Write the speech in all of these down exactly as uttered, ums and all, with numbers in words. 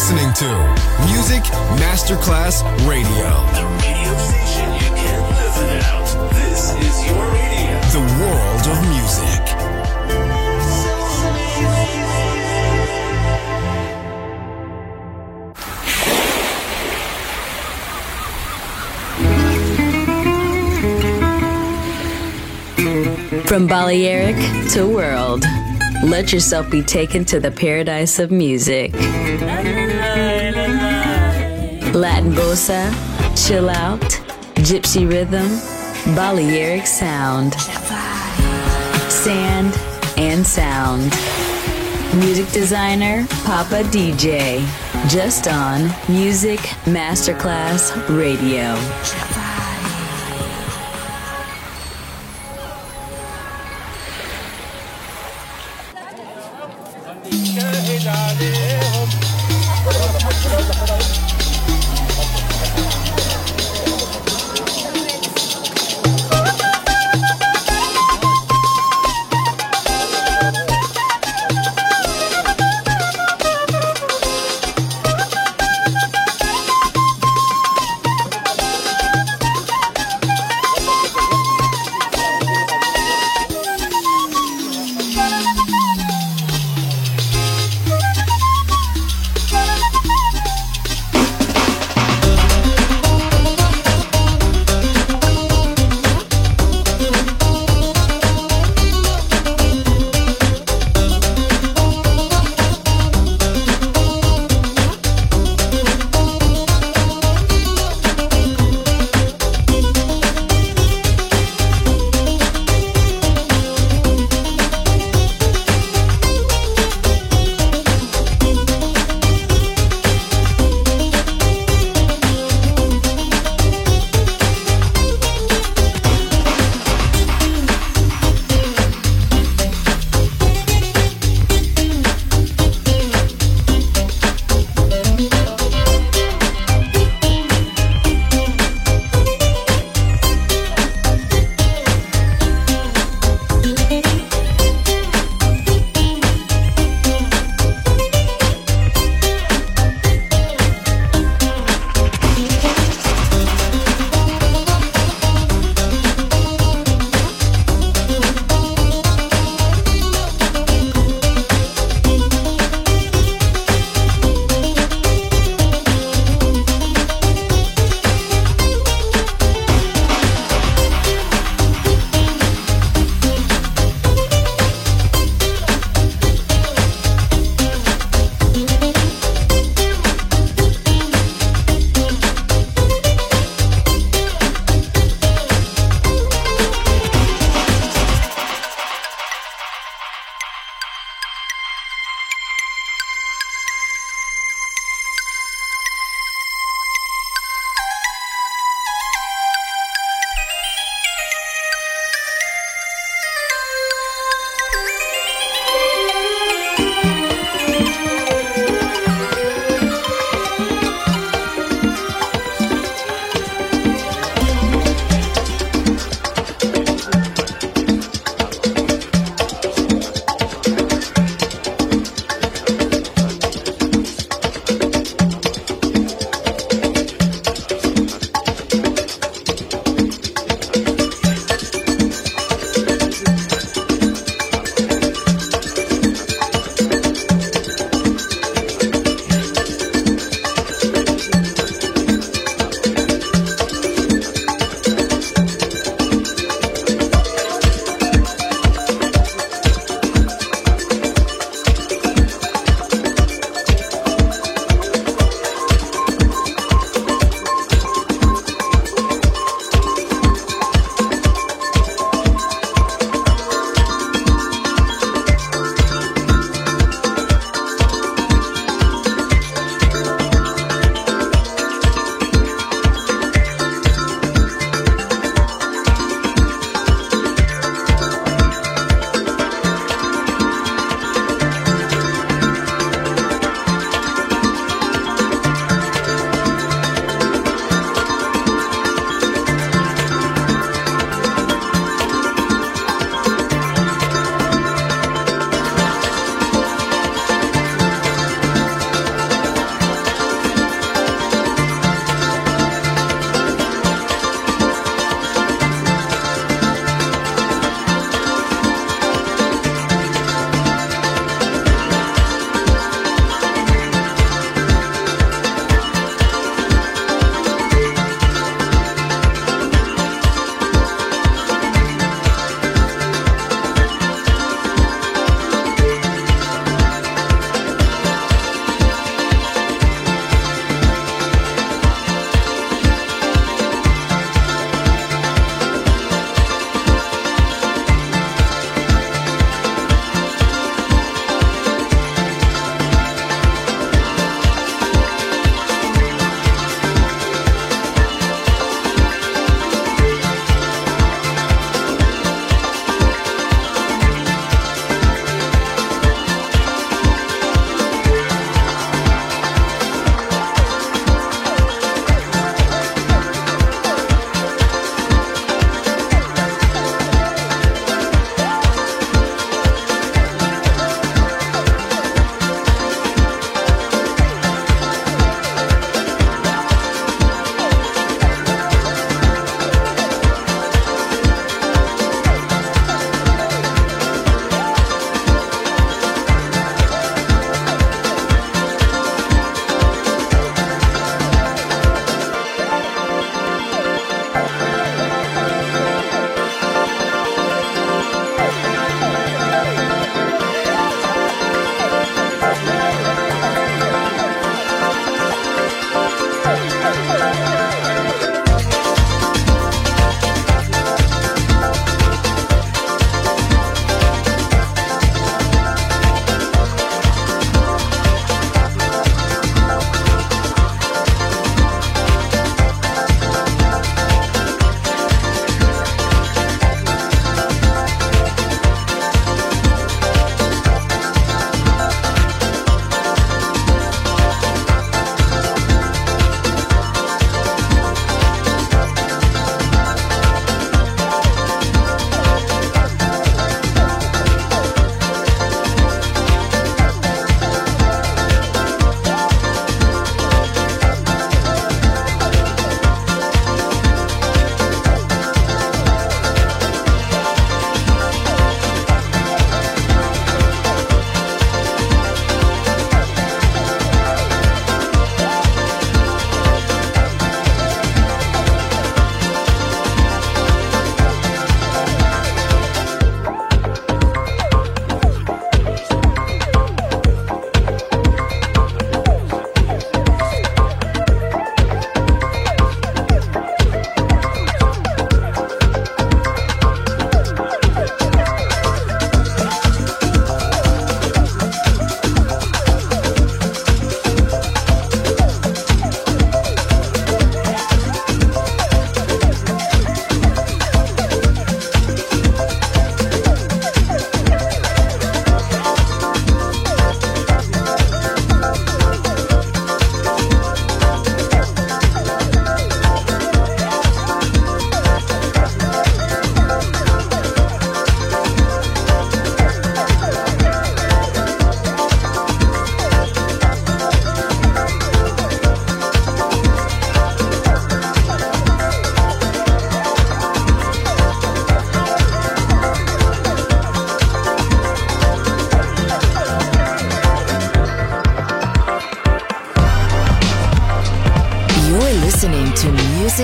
listening to Music Masterclass Radio. The radio station you can't live without. This is your radio. The world of music. From Balearic to world, let yourself be taken to the paradise of music. Latin bossa, chill out, gypsy rhythm, Balearic sound, sand and sound. Music designer, Papa D J, just on Music Masterclass Radio.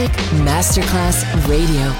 Music Masterclass Radio.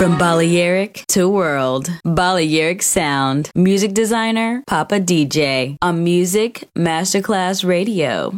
From Balearic to world, Balearic sound. Music designer, Papa D J. On Music Masterclass Radio.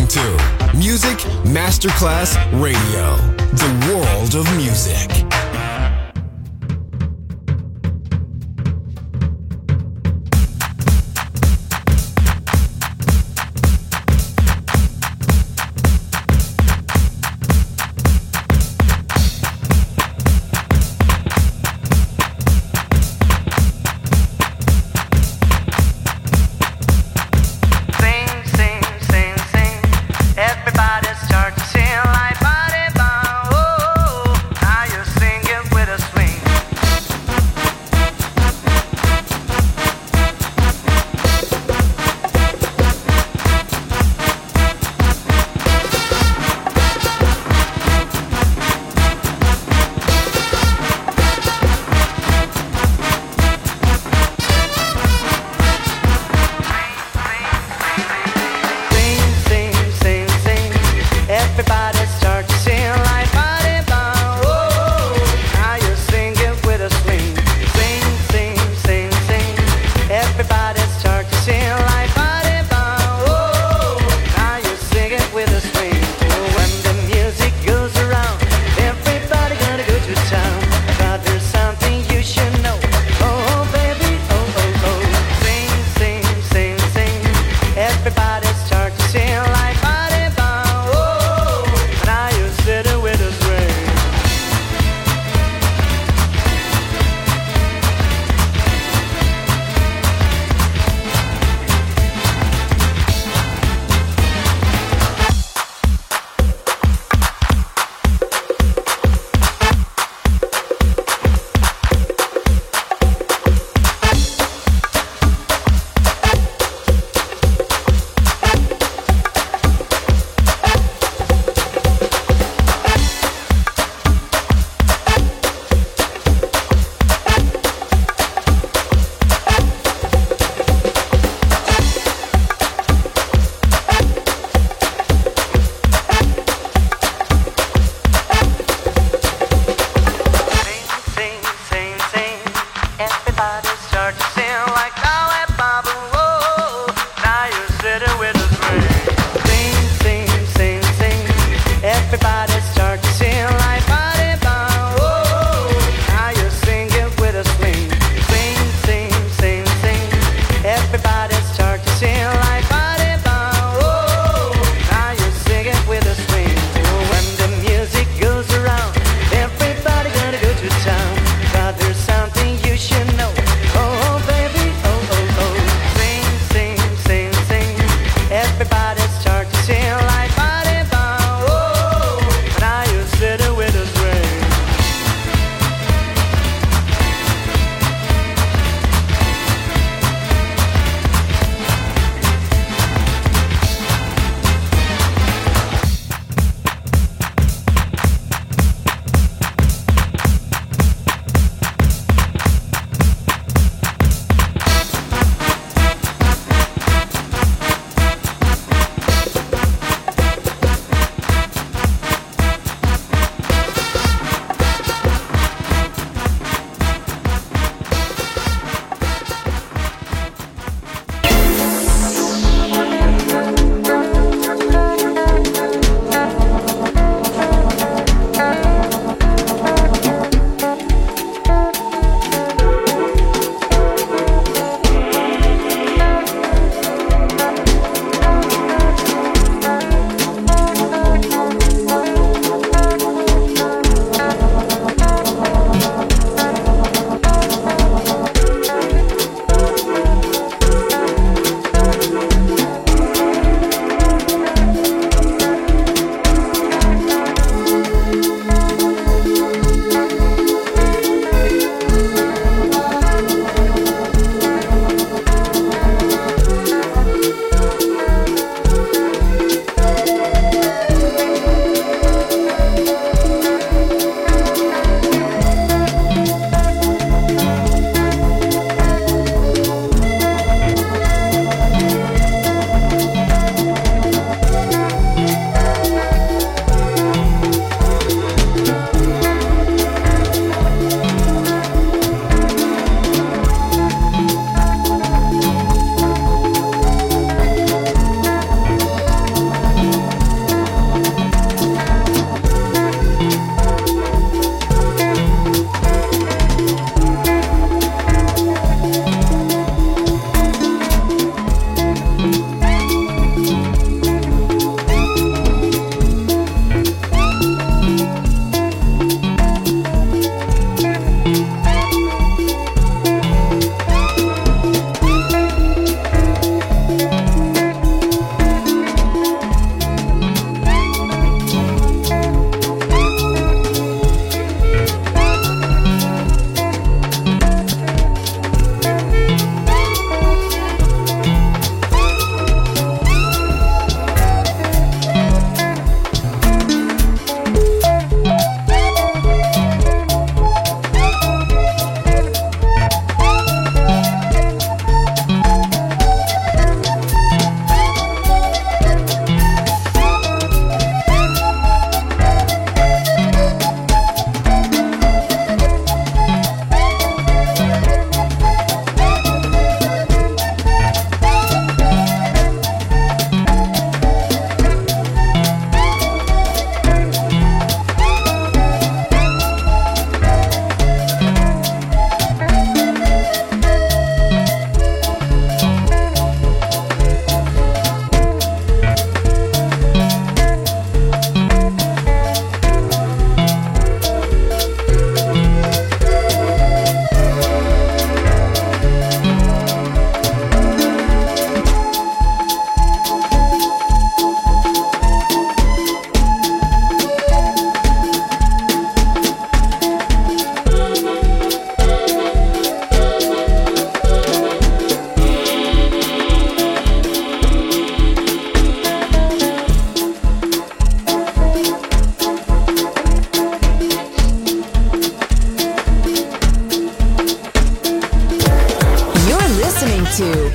to Music Masterclass Radio, the world of music. Everybody start to sing like body bomb. Oh, now you sing.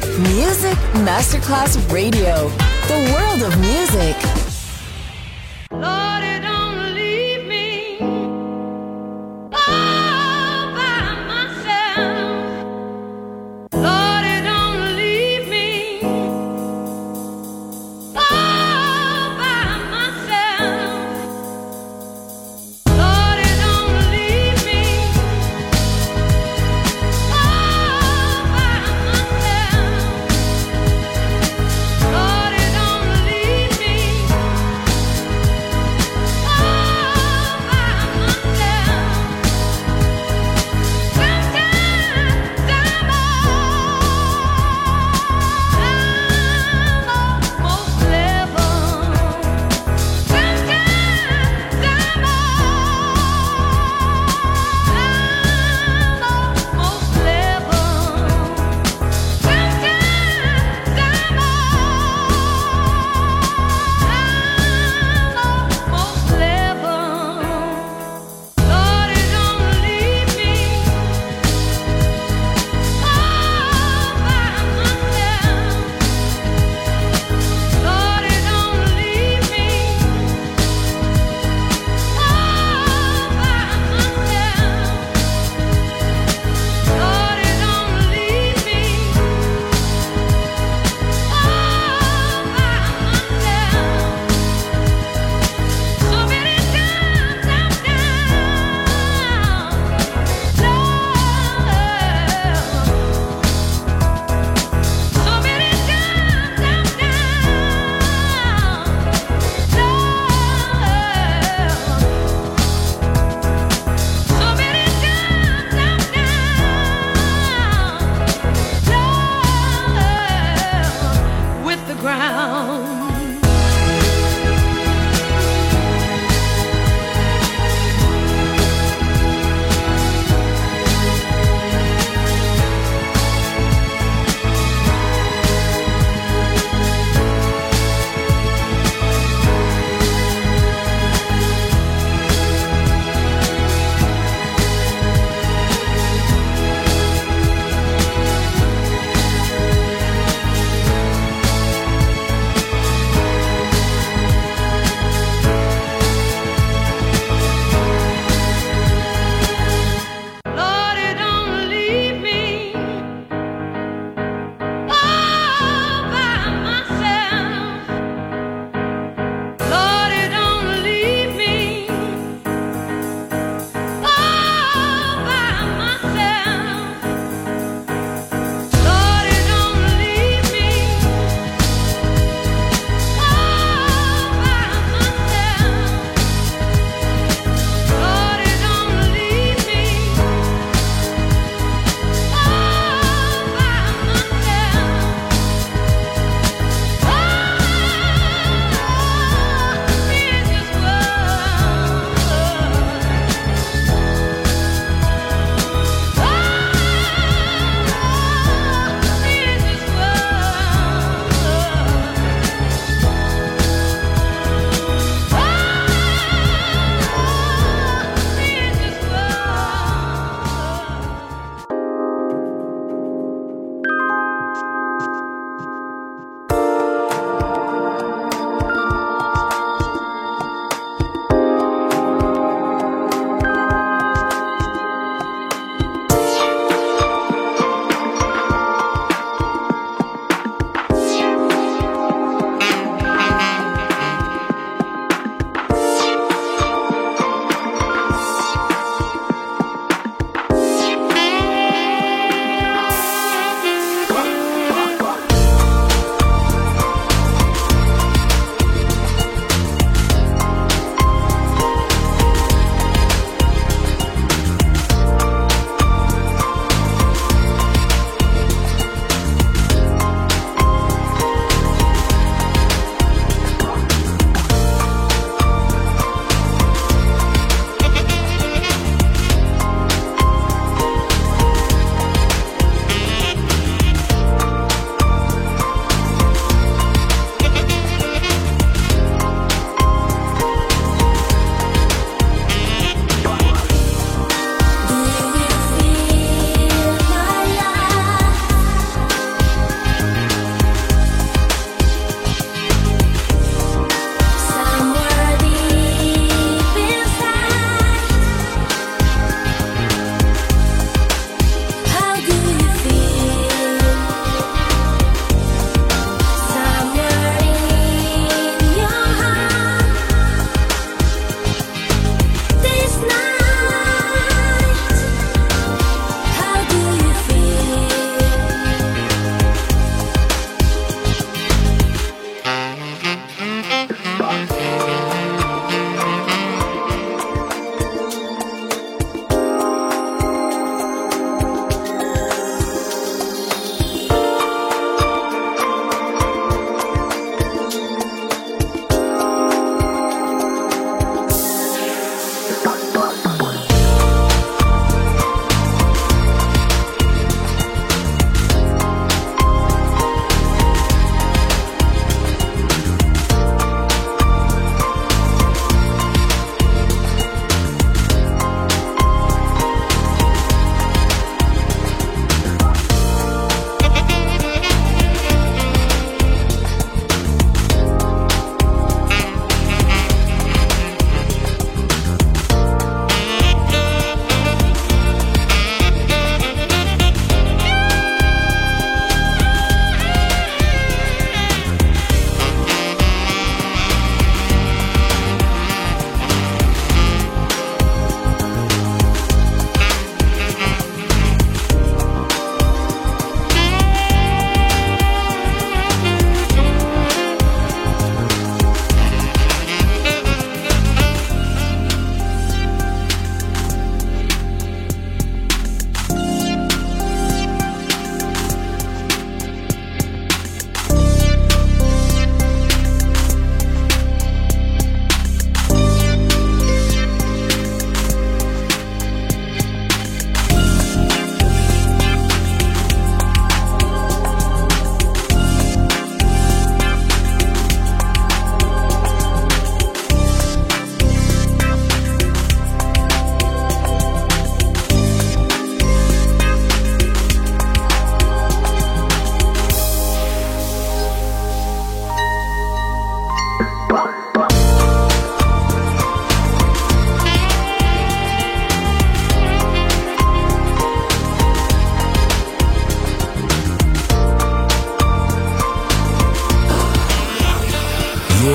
Music Masterclass Radio. The world of music. Lord, it don't leave me all by myself. Lord, it don't leave me all by myself. Lord, it don't leave me all by myself. Lord, it don't leave me.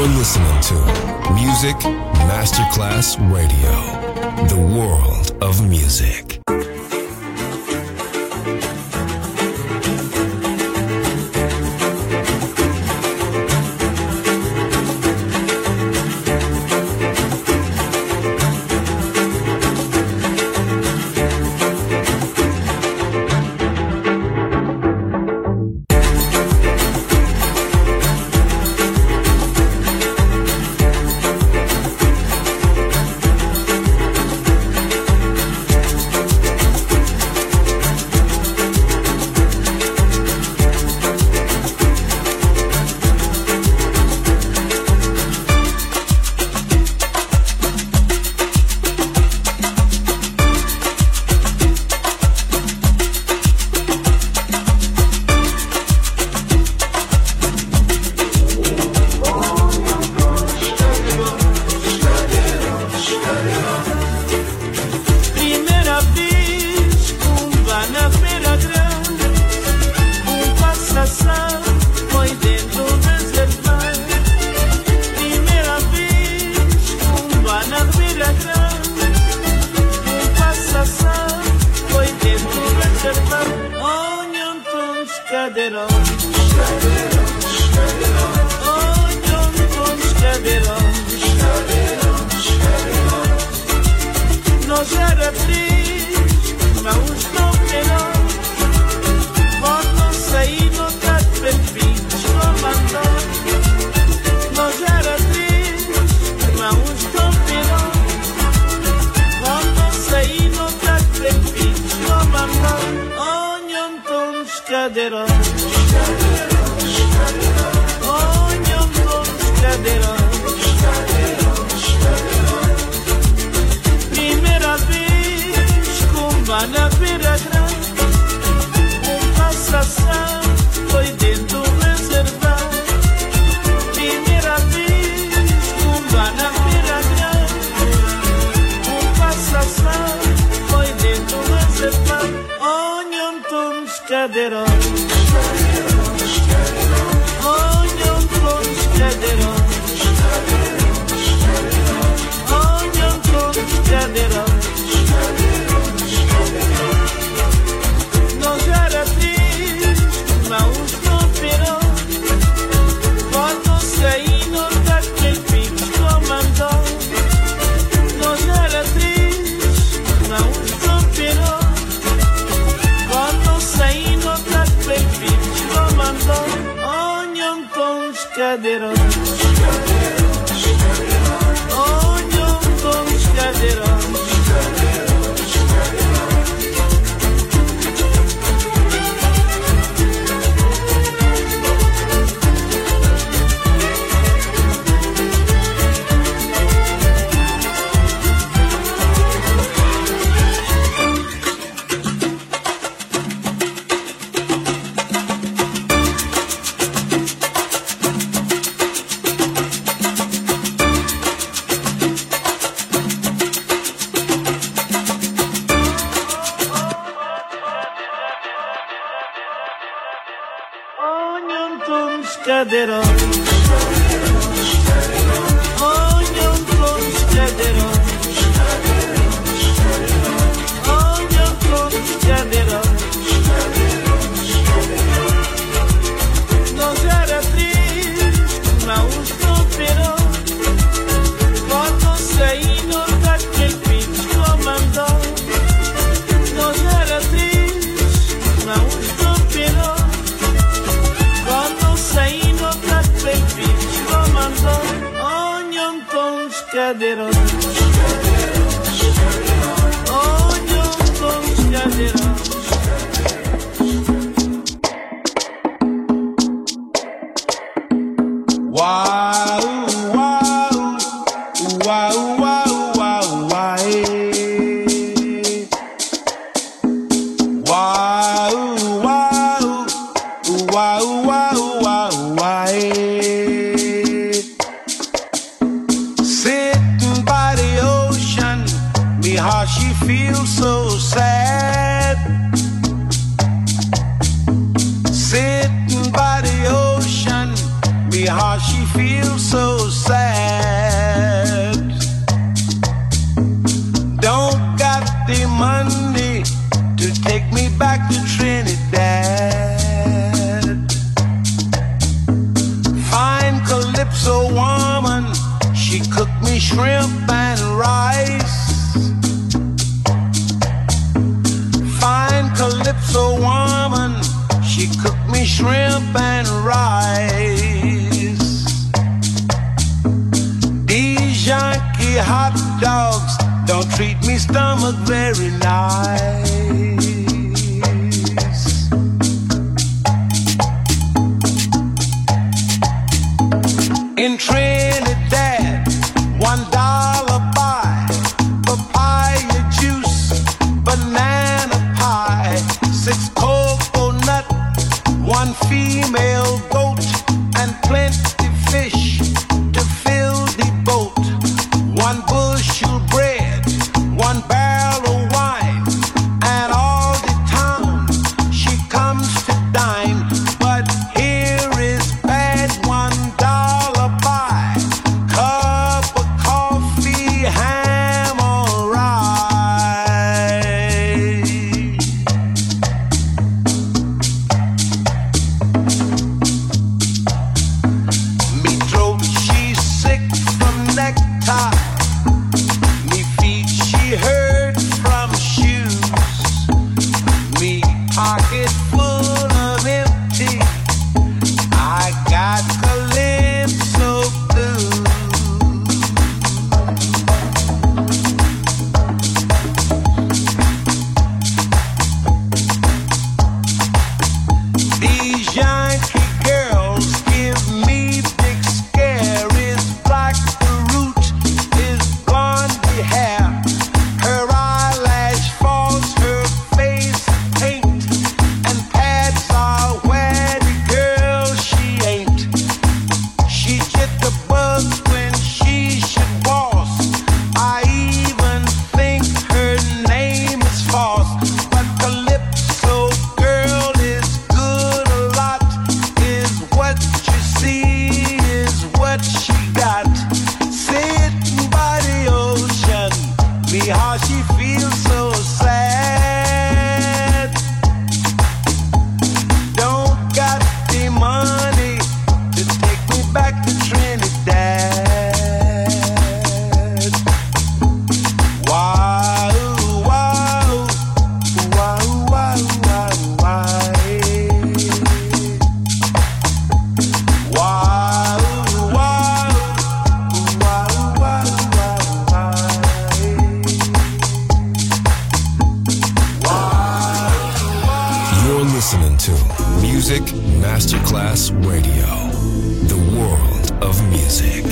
You're listening to Music Masterclass Radio, the world of music. Sitting by the ocean, me how she feels so sad. money to take me back to Trinidad. Fine Calypso woman, she cooked me shrimp and rice. Fine Calypso woman, she cooked me shrimp and rice. These Yankee hot dogs don't treat me stomach very nice. In Trinidad, one dollar buy papaya juice, banana pie, six coconut, one female goat, and plenty fish to fill the boat. One bushel bread, one barrel of wine, and all the town she comes to dine. But here is bad, one dollar buy cup of coffee, ham or rye. Me throat, she's sick from necktie. Me feet, she hurt from shoes. Me pocket full of empty. I got Calypso blues. These Yankee girls give me big scaries. Black the root is blondie hair. Her eyelash falls, her face paint, and pads are where the girl she ain't. She get the bug when she should boss. I even think her name is false. But Calypso girl is good a lot. Is what you see, is what she got. Sitting by the ocean, me how she feels so sad. Don't got the money to take me back to Trinidad. Wow, wow, wow, wow, wow, wow. Wow, wow, wow, wow, wow, wow. You're listening to Music Masterclass Radio, the world of music.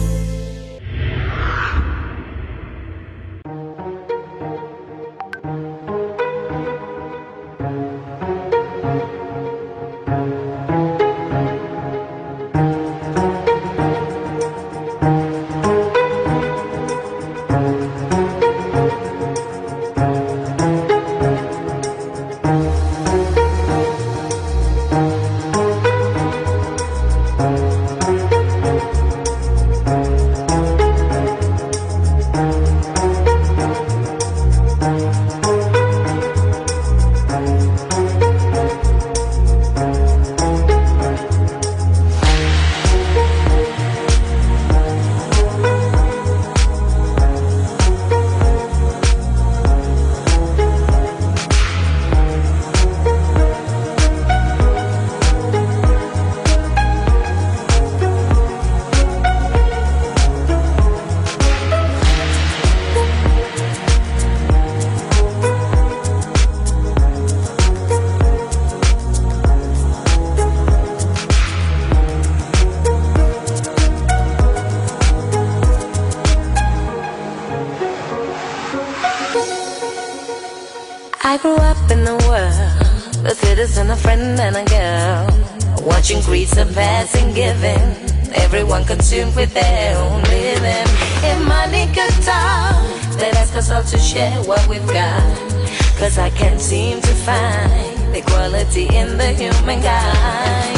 I grew up in the world, a citizen, a friend, and a girl, watching greed surpass and giving, everyone consumed with their own living. If money could talk, then ask us all to share what we've got, cause I can't seem to find equality in the human kind.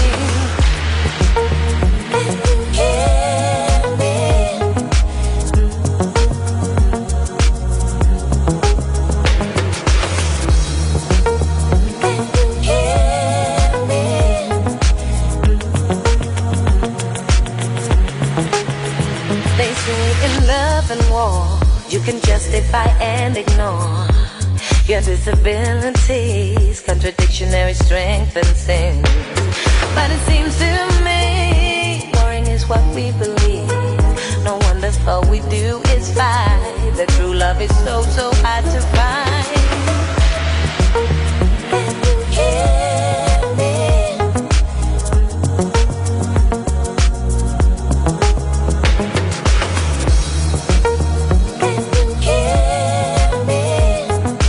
and ignore your disabilities, contradictionary strength and sin. But it seems to me, boring is what we believe. No wonder all we do is fight. The true love is so, so hard to find. Can you hear me? Can you hear me?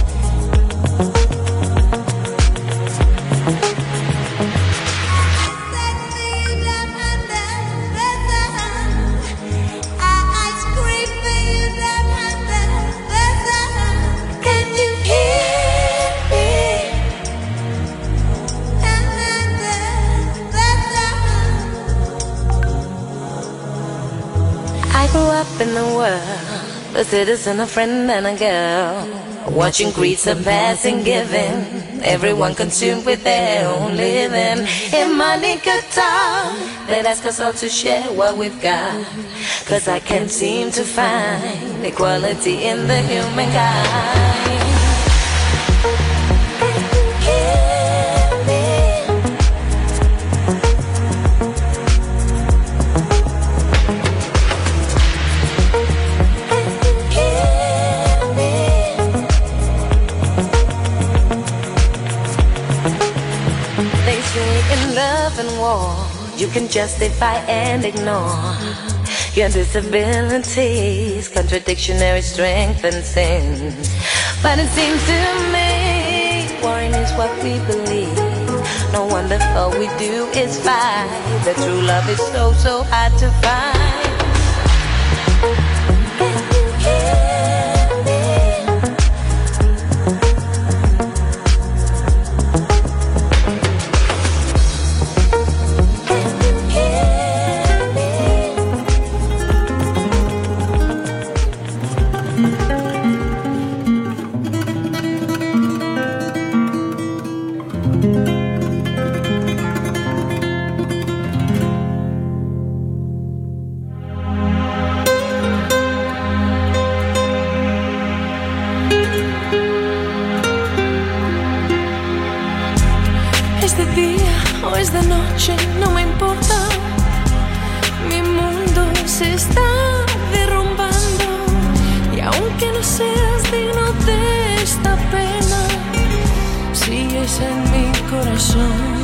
In the world, a citizen, a friend, and a girl, watching greed surpass and giving, everyone consumed with their own living. If money could talk, they'd ask us all to share what we've got, cause I can't seem to find equality in the humankind. You can justify and ignore your disabilities, contradictionary strength and sin. But it seems to me, warring is what we believe. No wonder all we do is fight. The true love is so, so hard to find. Can you hear me? No me importa, mi mundo se está derrumbando y aunque no seas digno de esta pena, sigues en mi corazón.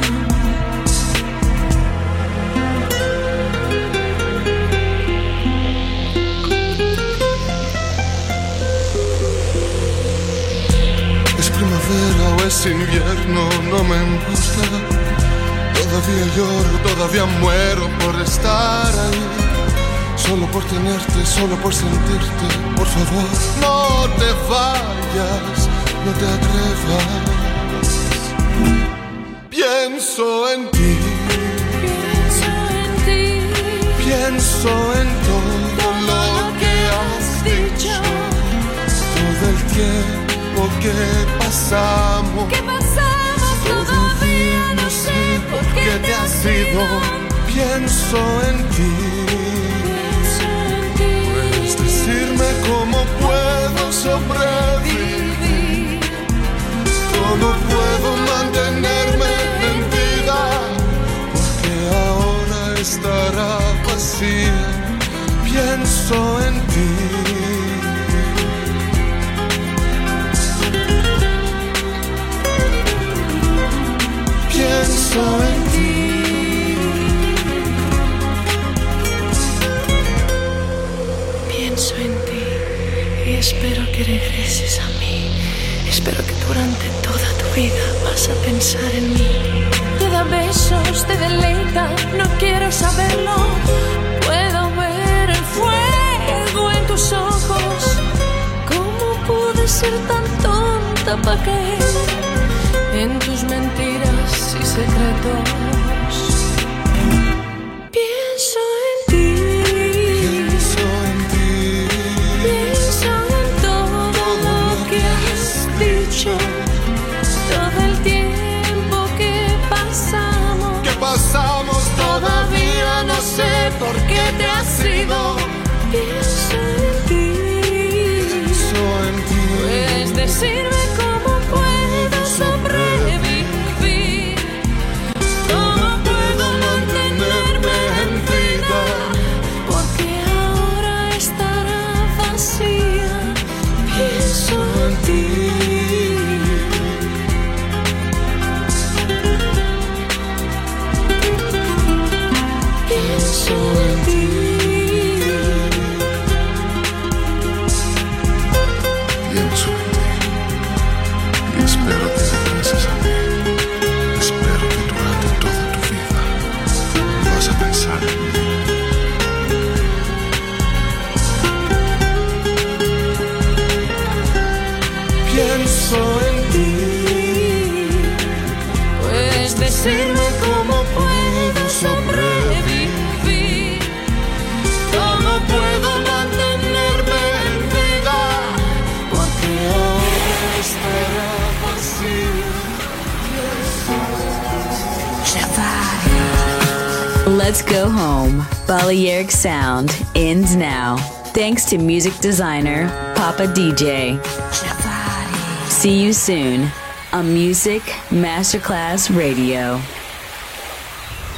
Es primavera o es invierno, no me importa. Todavía lloro, todavía muero por estar ahí. Solo por tenerte, solo por sentirte. Por favor, no te vayas, no te atrevas. Pienso en ti, pienso en ti, pienso en todo lo que has dicho. Todo el tiempo que pasamos, ¿qué pasamos? Todavía no sé por qué te has ido. Pienso en ti, puedes decirme cómo puedo sobrevivir, cómo puedo mantenerme en vida, porque ahora estará vacía. Pienso en ti. Pienso en ti. Pienso en ti y espero que regreses a mí. Espero que durante toda tu vida vas a pensar en mí. Te da besos, te deleita, no quiero saberlo. Puedo ver el fuego en tus ojos. ¿Cómo pude ser tan tonta para caer en tus mentiras y secretos? Pienso en ti, Pienso en ti. pienso en todo, todo lo que has dicho, todo el tiempo que pasamos. ¿Qué pasamos? Todavía no sé por qué te has ido. Pienso en ti, Pienso en ti. Let's go home. Balearic Sound ends now. Thanks to music designer Papa D J. See you soon on Music Masterclass Radio.